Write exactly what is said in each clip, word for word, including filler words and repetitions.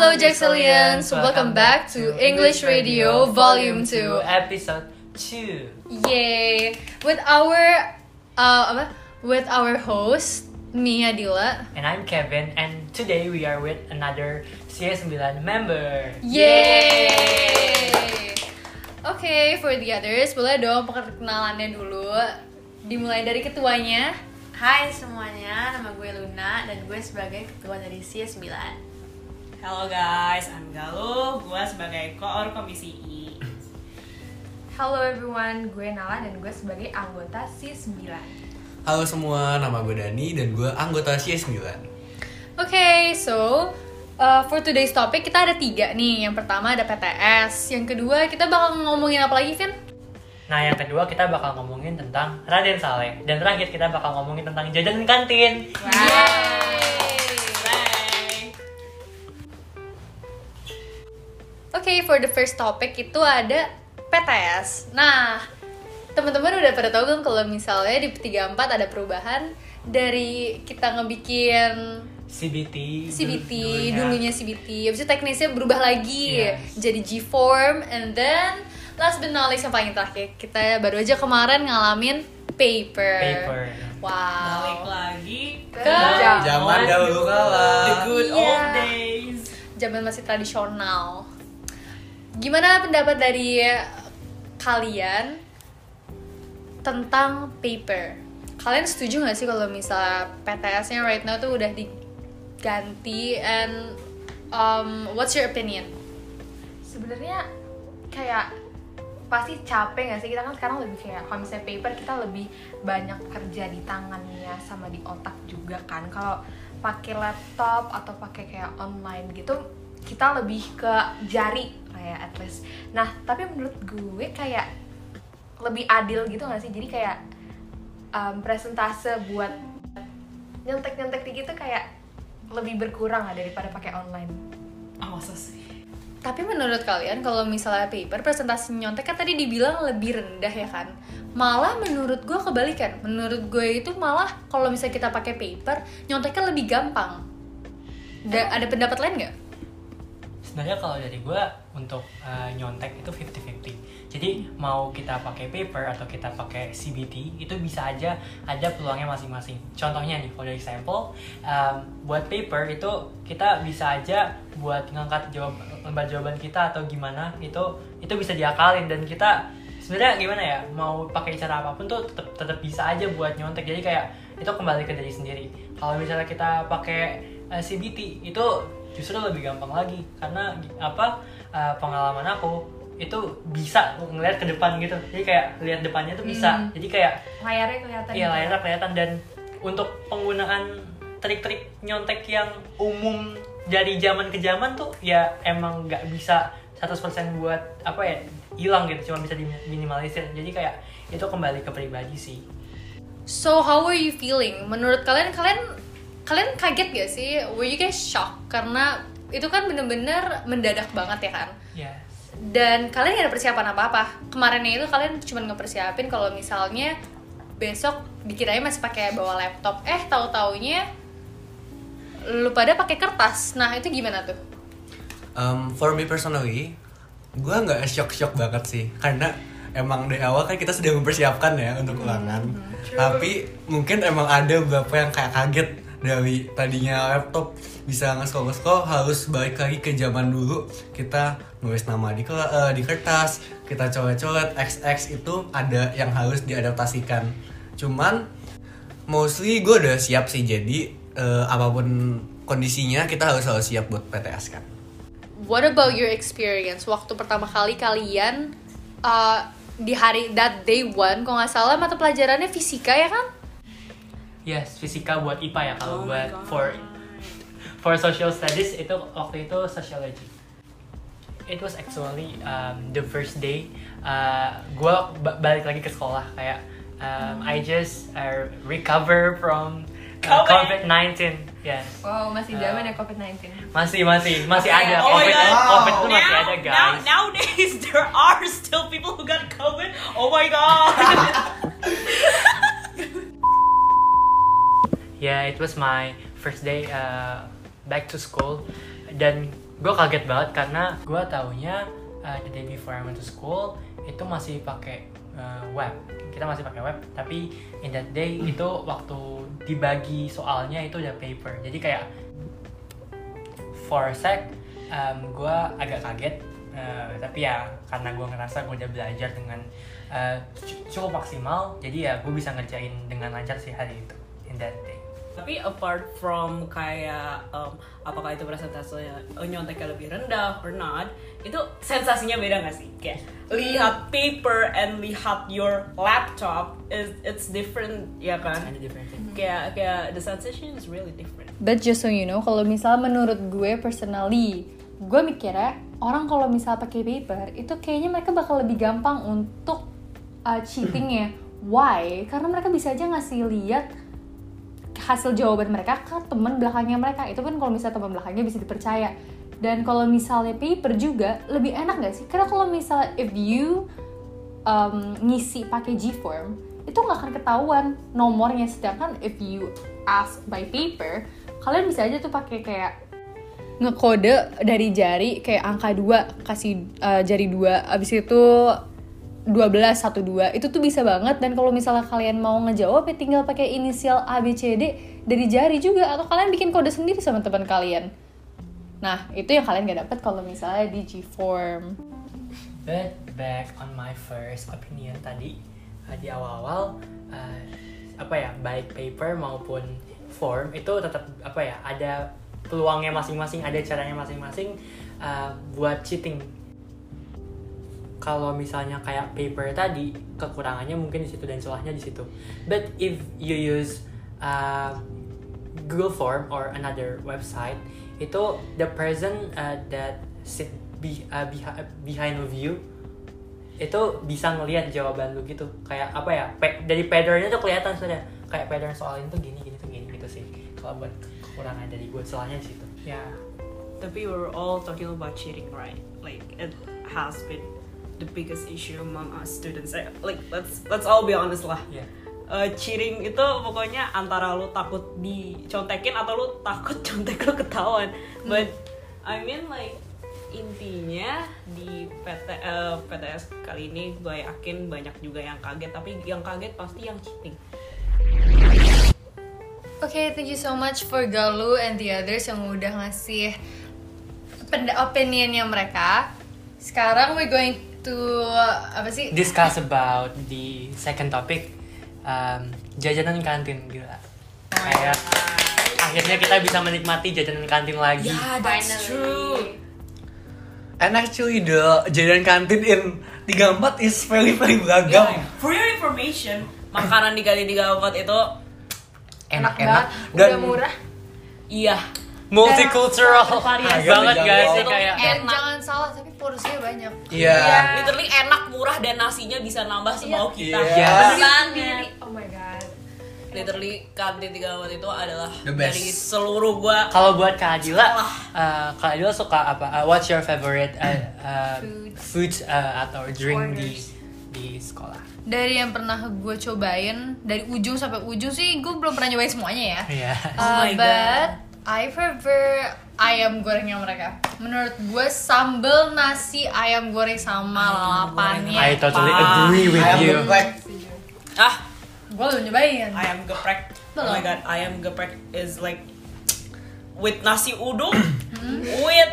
Hello Jacksalians, welcome back to English Radio Volume two, Episode two. Yay! With our uh, apa? With our host Mia Dila. And I'm Kevin, and today we are with another C S nine member. Yay! Oke, okay, for the others, boleh dong perkenalannya dulu. Dimulai dari ketuanya. Hai semuanya, nama gue Luna dan gue sebagai ketua dari C S nine. Halo guys, I'm Galuh, gue sebagai koor komisi I. Hello everyone, gue Nala dan gue sebagai anggota C S nine. Halo semua, nama gue Dani dan gue anggota C S nine. Oke, okay, so uh, for today's topic kita ada tiga nih. Yang pertama ada P T S, yang kedua kita bakal ngomongin apa lagi, Vin? Nah, yang kedua kita bakal ngomongin tentang Raden Saleh. Dan terakhir kita bakal ngomongin tentang jajan kantin. Wow. Yay! Oke, okay, for the first topic itu ada P T S. Nah, teman-teman udah pada tahu kan kalau misalnya di P tiga puluh empat ada perubahan dari kita ngebikin C B T, C B T dulunya, dulunya C B T, habis itu teknisnya berubah lagi, yes. Jadi G-form, and then last but not least yang paling terakhir kita baru aja kemarin ngalamin paper. Paper. Wow. Balik lagi ke zaman dahulu kala. The good yeah. old days. Zaman masih tradisional. Gimana pendapat dari kalian tentang paper? Kalian setuju gak sih kalau misalnya P T S-nya right now tuh udah diganti, and um, what's your opinion? Sebenarnya kayak pasti capek gak sih? Kita kan sekarang lebih kayak kalau misalnya paper kita lebih banyak kerja di tangannya sama di otak juga kan. Kalau pakai laptop atau pakai kayak online gitu kita lebih ke jari kayak at least. Nah, tapi menurut gue kayak lebih adil gitu gak sih? Jadi kayak um, presentase buat nyontek-nyontek gitu kayak lebih berkurang lah daripada pakai online. Oh, masa sih? Tapi menurut kalian kalau misalnya paper presentasi nyontek kan tadi dibilang lebih rendah ya kan? Malah menurut gue kebalikan. Menurut gue itu malah kalau misalnya kita pakai paper nyonteknya lebih gampang. Da- ada pendapat lain nggak? Sebenarnya kalau dari gue untuk uh, nyontek itu fifty fifty. Jadi mau kita pakai paper atau kita pakai C B T itu bisa aja ada peluangnya masing-masing. Contohnya nih, kalau dari sampel um, buat paper itu kita bisa aja buat ngangkat jawab lembar jawaban kita atau gimana itu itu bisa diakalin, dan kita sebenarnya gimana ya, mau pakai cara apapun tuh tetap tetap bisa aja buat nyontek. Jadi kayak itu kembali ke diri sendiri. Kalau misalnya kita pakai uh, C B T itu justru lebih gampang lagi karena apa, uh, pengalaman aku itu bisa ngeliat ke depan gitu, jadi kayak lihat depannya tuh bisa, hmm. jadi kayak layarnya kelihatan. Iya, layarnya kelihatan. Dan untuk penggunaan trik-trik nyontek yang umum dari zaman ke zaman tuh ya emang nggak bisa seratus persen buat apa ya hilang gitu, cuma bisa diminimalisir. Jadi kayak itu kembali ke pribadi sih. So how are you feeling? Menurut kalian kalian kalian kaget gak sih? Were you guys shocked? Karena itu kan bener-bener mendadak banget ya kan? Yes. Dan kalian gak ada persiapan apa-apa. Kemarinnya itu kalian cuma ngepersiapin kalau misalnya besok dikiranya masih pakai bawa laptop. Eh, tahu-taunya lu pada pakai kertas. Nah, itu gimana tuh? Um, for me personally, gue nggak shock-shock banget sih, karena emang dari awal kan kita sudah mempersiapkan ya untuk ulangan. Mm-hmm. Tapi mungkin emang ada beberapa yang kayak kaget. Dari tadinya laptop bisa nge-scroll-nge-scroll harus balik lagi ke zaman dulu, kita nulis nama di uh, di kertas, kita coret-coret X X, itu ada yang harus diadaptasikan. Cuman mostly gue udah siap sih, jadi uh, apapun kondisinya kita harus selalu siap buat P T S kan. What about your experience waktu pertama kali kalian uh, di hari that day one, kalau nggak salah mata pelajarannya fisika ya kan? Yes, fisika buat I P A ya. Kalau oh buat for for social studies itu waktu itu sociology. It was actually um, the first day uh, gue b- balik lagi ke sekolah, kayak um, I just uh, recover from uh, covid nineteen. Yes. Wow, masih zaman uh, ya covid nineteen. Masih masih masih okay. ada oh covid. Wow. COVID itu masih Now, ada, guys. Now, nowadays there are still people who got COVID. Oh my god. Yeah, it was my first day uh, back to school, dan gue kaget banget karena gue taunya uh, the day before I went to school itu masih pakai uh, web, kita masih pakai web, tapi in that day itu waktu dibagi soalnya itu udah paper, jadi kayak for a sec um, gue agak kaget, uh, tapi ya karena gue ngerasa gue udah belajar dengan uh, cukup maksimal, jadi ya gue bisa ngerjain dengan lancar sih hari itu in that day. Tapi apart from kayak um, apakah itu presentasenya nyonteknya lebih rendah or not, itu sensasinya beda nggak sih? Kayak lihat paper and lihat your laptop is it's different ya kan? Kind of different thing. Kayak kayak the sensation is really different. But just so you know, kalau misalnya menurut gue personally, gue mikirnya orang kalau misalnya pakai paper itu kayaknya mereka bakal lebih gampang untuk uh, cheatingnya. Why? Karena mereka bisa aja ngasih lihat hasil jawaban mereka ke teman belakangnya mereka. Itu kan kalau misalnya teman belakangnya bisa dipercaya. Dan kalau misalnya paper juga lebih enak gak sih? Karena kalau misalnya if you um, ngisi pakai G-form itu gak akan ketahuan nomornya. Sedangkan if you ask by paper, kalian bisa aja tuh pakai kayak ngekode dari jari kayak angka dua, kasih uh, jari dua, abis itu dua belas, satu, dua, itu tuh bisa banget. Dan kalau misalnya kalian mau ngejawab ya tinggal pakai inisial A, B, C, D dari jari juga, atau kalian bikin kode sendiri sama teman kalian. Nah, itu yang kalian gak dapet kalau misalnya di G-form. But back on my first opinion tadi, uh, di awal-awal uh, apa ya, baik paper maupun form itu tetap apa ya, ada peluangnya masing-masing, ada caranya masing-masing uh, buat cheating. Kalau misalnya kayak paper tadi, kekurangannya mungkin di situ dan celahnya di situ. But if you use uh, Google Form or another website, itu the person uh, that sit be, uh, behi- behind of you itu bisa ngelihat jawaban lu gitu. Kayak apa ya? Pe- dari patternnya tuh kelihatan sudah. Kayak pattern soal itu gini gini tuh gini gitu sih. Kalau buat kekurangan dari gue, celahnya di situ. Ya. Yeah. Tapi we're all talking about cheating, right? Like it has been the biggest issue among us students. Like let's let's all be honest lah. Yeah. Uh, cheating itu pokoknya antara lu takut dicontekin atau lu takut contek lu ketahuan. Hmm. But I mean like intinya di P T, uh, P T S kali ini gue yakin banyak juga yang kaget, tapi yang kaget pasti yang cheating. Okay, thank you so much for Galuh and the others yang udah ngasih opinionnya mereka. Sekarang we're going to apa sih? Discuss about the second topic, um, jajanan kantin. Gila. Kayak akhirnya kita bisa menikmati jajanan kantin lagi. Yeah, that's true. And actually the jajanan kantin in tiga puluh empat is very very beragam. Yeah. For your information, makanan di Kali tiga puluh empat itu Enak-enak dan udah murah. iya, Multicultural variasi banget guys sih Itu kayak. And jangan salah, tapi porsinya banyak. Iya. yeah. Literally enak, murah, dan nasinya bisa nambah semau kita. Iya. Yes. Banget. Oh my god. Literally kantin tiga puluh empat itu adalah The best. dari seluruh gua. Kalau buat Kak Adila, uh, Kak Adila suka apa? Uh, what's your favorite uh, uh, food uh, atau drink di di sekolah? Dari yang pernah gue cobain dari ujung sampai ujung sih gue belum pernah nyobain semuanya ya. Iya. Uh, Oh my but God. I prefer ayam gorengnya mereka. Menurut gue sambal nasi ayam goreng sama lalapannya. I totally agree with Ayam you. geprek. Ah, Gue belum nyobain. ayam geprek. Oh my god, ayam geprek is like with nasi uduk, with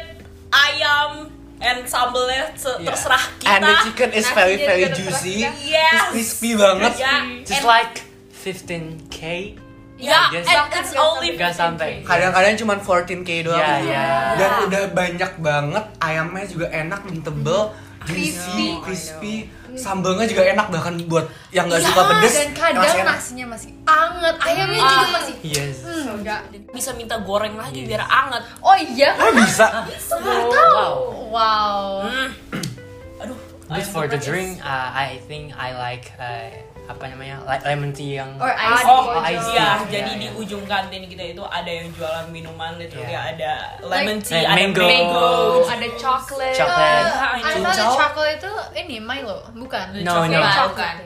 ayam and sambelnya se- Yeah. terserah kita. And the chicken is very Nasinya very juga juicy. Yes. Crispy banget. Yeah. Just And- like fifteen K. Yeah, Just- and it's only Gak sampai. Kadang-kadang cuma empat belas K doang. Iya, iya. Dan udah banyak banget, ayamnya juga enak dan tebel, juicy, Crispy. crispy. Sambalnya juga enak bahkan buat yang nggak Iya, suka pedes. dan kadang masih enak. nasinya masih anget, ayamnya juga Ah. masih Yes. hmm, enggak. bisa minta goreng lagi biar anget. Oh iya, Oh bisa. nggak tahu. Wow. Wow. Hmm. Aduh. But ayam for the geprek is- drink, uh, I think I like uh, apa namanya, like lemon tea yang. Or ice Oh, Oh, ice tea. iya. Iya, Jadi iya. di ujung kantin kita itu ada yang jualan minuman, literally Iya. ada lemon Like- tea, Like ada mango. mango, Ada chocolate. Chocolate. Uh, I thought Cincau. chocolate itu ini Milo, bukan? No, no. Chocolate.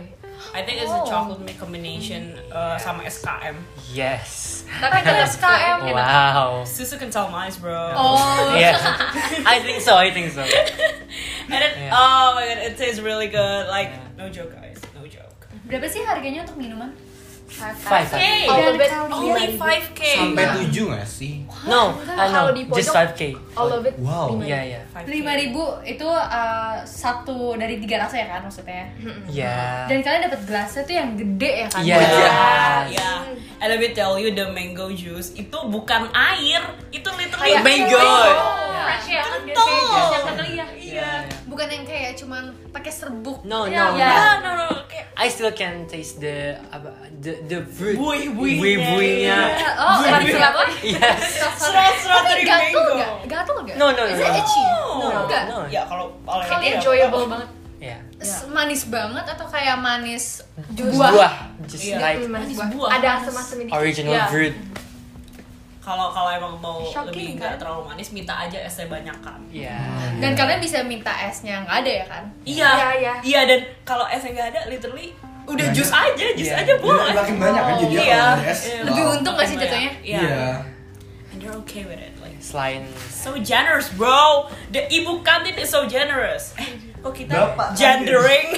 I think it's a chocolate milk combination uh, sama S K M. Yes. Tapi kan S K M enak. Wow. Susu kental manis, bro. Oh. Yeah. I think so. I think so. And it, Yeah. oh my god, it tastes really good. Like, Yeah. no joke, guys, no joke. Berapa sih harganya untuk minuman? Five. Hey, All of it only five K. Sampai tujuh nggak sih? No, Enggak, uh, kalau no, di just pojok- five K. All of it. Wow. lima. Iya, iya. lima ribu itu uh, satu dari tiga rasa ya kan maksudnya. Iya. Dan kalian dapat gelasnya tuh yang gede ya kan? Iya. Yeah, yeah. And let me tell you, the mango juice itu bukan air, itu literally Kayak mango. Fresh ya kan dia Kental. kayak jus yang kali ya. Iya. Bukan yang kayak cuman pakai serbuk. No, Iya, no, iya. no. Yeah, no, no, kayak I still can taste the apa the the fruit. Bui-buinya. Bui-buinya. Oh, Bukan iya. siapa? Yes. serat-serat Tapi dari gatel mango. nggak? Gatel nggak? No, no, no, Is it no. itchy? No, Enggak. no. Ya kalau oleh Kali dia, enjoyable banget. Yeah. S- Manis banget atau kayak manis jus? Buah. Just Iya. like Manis Manis buah. buah. Ada asam-asam dikit. original Iya. fruit. Kalau kalau emang mau Shocking, lebih nggak kan? terlalu manis, minta aja esnya banyak kan. Yeah. Dan kalian bisa minta esnya nggak ada ya kan? Iya, Iya, iya. iya dan kalau esnya nggak ada, literally udah Banyak. jus aja, jus Iya. aja boleh. Makin banyak kan jadi Iya. kalau ada es. Iya. Lebih Wow. untung nggak sih jatuhnya? Iya. Iya. And you're okay with it, like Selain so generous, bro. The ibu kantin is so generous. Eh, kok kita Bapak gendering?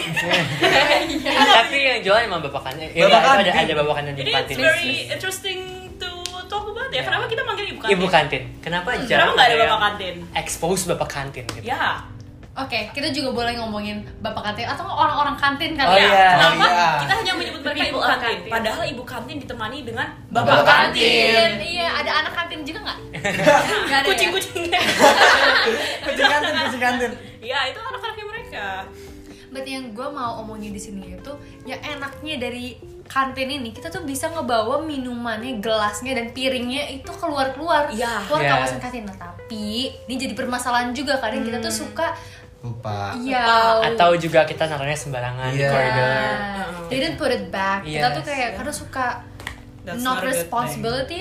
tapi yang jualan emang bapak kantin. Ya, Bapak itu ada kantin. ada bapak kantin di Ini kantin. it's very interesting to talk about ya. Kenapa kita manggil ibu kantin? Ibu kantin. Kenapa Kenapa jarang nggak ada yang bapak kantin? expose bapak kantin gitu? Ya. Oke, kita juga boleh ngomongin bapak kantin atau orang-orang kantin Oh, kali ya. iya. Kenapa Oh, iya. kita hanya menyebut mereka ibu People kantin? kantin. Padahal ibu kantin ditemani dengan Bapak bapak kantin. kantin. Iya, ada anak kantin juga nggak? Nggak ada ya? Kucing-kucingnya. Kucing kantin, kucing kantin. Iya, itu anak-anaknya mereka. Berarti yang gue mau omongin di sini itu, ya enaknya dari kantin ini kita tuh bisa ngebawa minumannya, gelasnya dan piringnya itu keluar-keluar, Iya. keluar Iya. kawasan kantin. Nah, tapi ini jadi permasalahan juga kadang kita tuh suka Lupa. ya Atau juga kita naruhnya sembarangan di Iya. koridor. they didn't put it back. Kita tuh Yes. kayak kadang suka That's not not a good responsibility.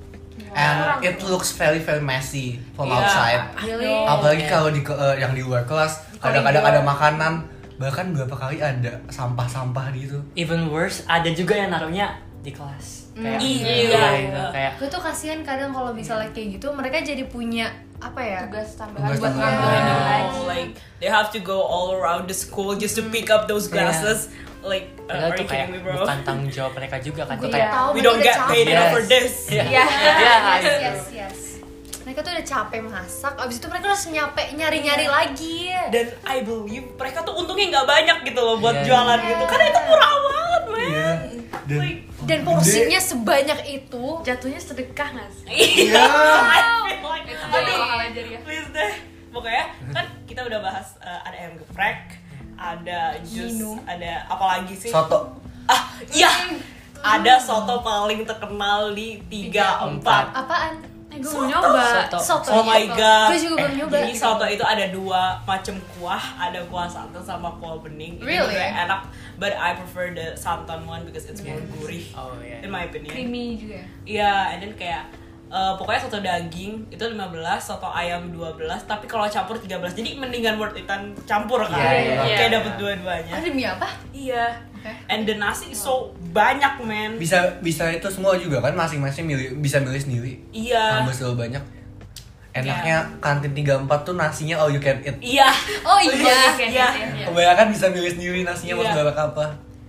And it looks very very messy from Iya. outside. Really? Apalagi Iya. kalau di ke- eh, yang di luar kelas, kadang-kadang ada makanan, bahkan beberapa kali ada sampah-sampah gitu. Even worse, ada juga yang naruhnya di kelas. Kayak Iya. iya, gitu. Kayak Gue tuh kasihan kadang kalau misalnya kayak gitu mereka jadi punya apa ya? Tugas tambahan Tugas buat tambahan. ngambilin Iya. lagi. Oh, like they have to go all around the school just to pick up those glasses. Like, uh, padahal are tuh you kayak kidding me, bro? bukan tanggung jawab mereka juga kan. Tuh Gue kayak tahu We mereka don't udah get capek. paid enough for Yes. this. Iya. Iya. Iya. Yes, yes, yes. Mereka tuh udah capek masak, abis itu mereka harus nyampe nyari-nyari lagi. Dan I believe mereka tuh untungnya nggak banyak gitu loh buat Iya. jualan gitu. Karena itu murah banget, man. Iya. Dan Like, Dan porsinya sebanyak itu. Jatuhnya sedekah nggak sih? iya. I feel like Itu aduh, bakal ajar ya. please deh. Pokoknya kan kita udah bahas uh, ada ayam geprek, ada jus, ada apa lagi sih? soto. Ah, iya. Ada soto paling terkenal di tiga empat. Apaan? Eh, gue mau nyoba. Soto. Soto. Oh my god. Gue juga belum nyoba. Jadi soto itu ada dua macam kuah, ada kuah santan sama kuah bening. Itu Really? juga enak, but I prefer the santan one because it's more gurih. Oh iya. In my opinion. Creamy juga. Iya, and then kayak uh, pokoknya soto daging itu lima belas, soto ayam dua belas, tapi kalau campur tiga belas. Jadi mendingan worth it-an campur kan. Iya, iya, Kayak iya. dapet dua-duanya. Ah, demi apa? Iya. Oke. And the nasi so banyak, man. Bisa bisa itu semua juga kan masing-masing milih bisa milih sendiri. Iya. Tambah selalu banyak. Enaknya kantin tiga empat tuh nasinya all you can eat. Iya. Oh iya. Iya. Kebanyakan bisa milih sendiri nasinya mau Iya. segala apa.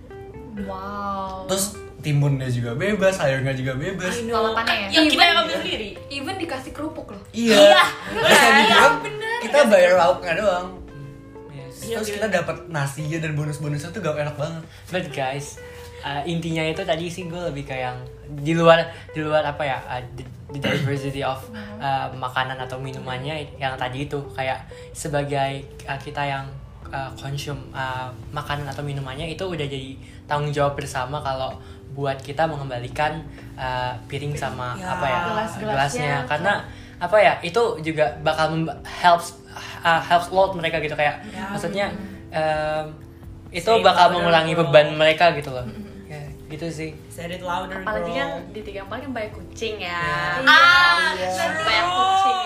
Wow. Terus timunnya juga bebas, sayurnya juga bebas. I know. Lalapannya ya? Yang kita Even- yang ambil sendiri. Even dikasih kerupuk loh. Iya. Iya. Bisa dibilang kita bayar lauknya doang. Yes. Iya, Terus gitu. kita dapat nasinya dan bonus-bonusnya tuh gak enak banget. But guys, uh, intinya itu tadi sih gue lebih kayak yang di luar di luar apa ya uh, the, the diversity of uh, makanan atau minumannya yang tadi itu kayak sebagai uh, kita yang uh, consume uh, makanan atau minumannya itu udah jadi tanggung jawab bersama kalau buat kita mengembalikan uh, piring sama Ya, apa ya gelas-gelasnya. gelasnya karena apa ya itu juga bakal memba- helps uh, helps a lot mereka gitu kayak Ya. maksudnya um, itu Say it bakal louder, mengurangi bro. beban mereka gitu loh ya gitu sih. Said it louder, Apalagi bro. kan di tiga empat kan banyak kucing ya. Iya. Ah, banyak kucing ya.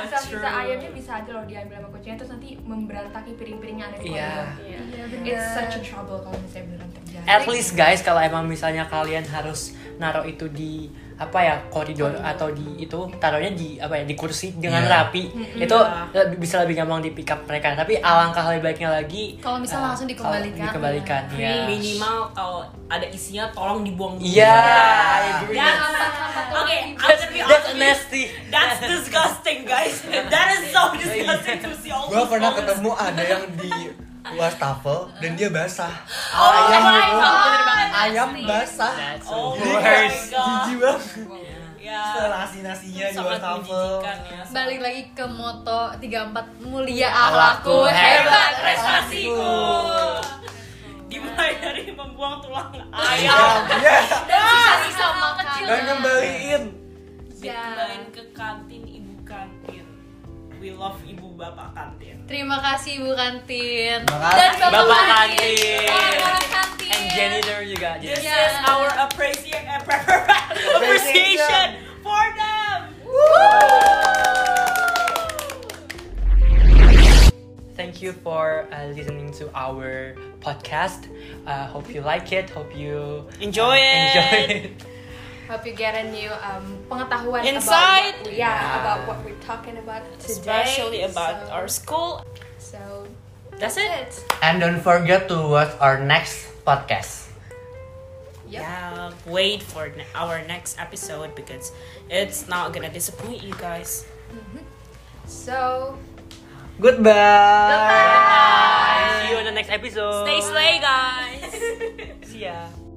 sisa-sisa true. ayamnya bisa aja loh diambil sama kucingnya terus nanti memberantaki piring-piringnya ada di Iya. koridor. Iya, It's such a trouble kalau misalnya beneran terjadi. At least guys, kalau emang misalnya kalian harus naruh itu di apa ya koridor atau di itu taruhnya di apa ya di kursi dengan Iya. rapi itu lebih- bisa lebih gampang di pick up mereka. Tapi alangkah lebih baiknya lagi Kalau misalnya eh, langsung dikembalikan. kalau dikembalikan ya. Minimal kalau ada isinya tolong dibuang dulu. Iya, I agree. That's- Oke, I'm That's, gonna be that's honest. nasty. That's disgusting, guys. That is so disgusting to see all Gue those pernah bones. ketemu ada yang di wastafel dan dia basah. Oh ayam my gitu. God. Ayam basah. That's Oh the my worst. God. Jijik banget. Ya. Nasi-nasinya di Sangat wastafel. menjijikan ya. Balik lagi ke moto tiga puluh empat mulia Akhlakku, akhlakku, hebat hebat prestasiku. Dimulai dari membuang tulang Ayam. ayam. Iya. Dan sisa-sisa makan. Dan ngembaliin. Dikembaliin ke kantin ibu kantin. We love ibu bapak kantin. Terima kasih Ibu Kantin. Terima kasih. Dan Bapak, Bapak Kantin. Kantin. Orang-orang kantin. And janitor juga. This Yeah. is our appreciation appreciation for them. Thank you for uh, listening to our podcast. Uh, hope you like it. Hope you Enjoy uh, it. Enjoy it. Hope you get a new um, pengetahuan Insight. about what, yeah, Yeah. about what we're talking about today. Especially about so, our school. So That's it. And don't forget to watch our next podcast. Yep. Yeah, wait for ne- our next episode because it's not gonna disappoint you guys. So Goodbye. See you in the next episode. Stay slay, guys. See ya.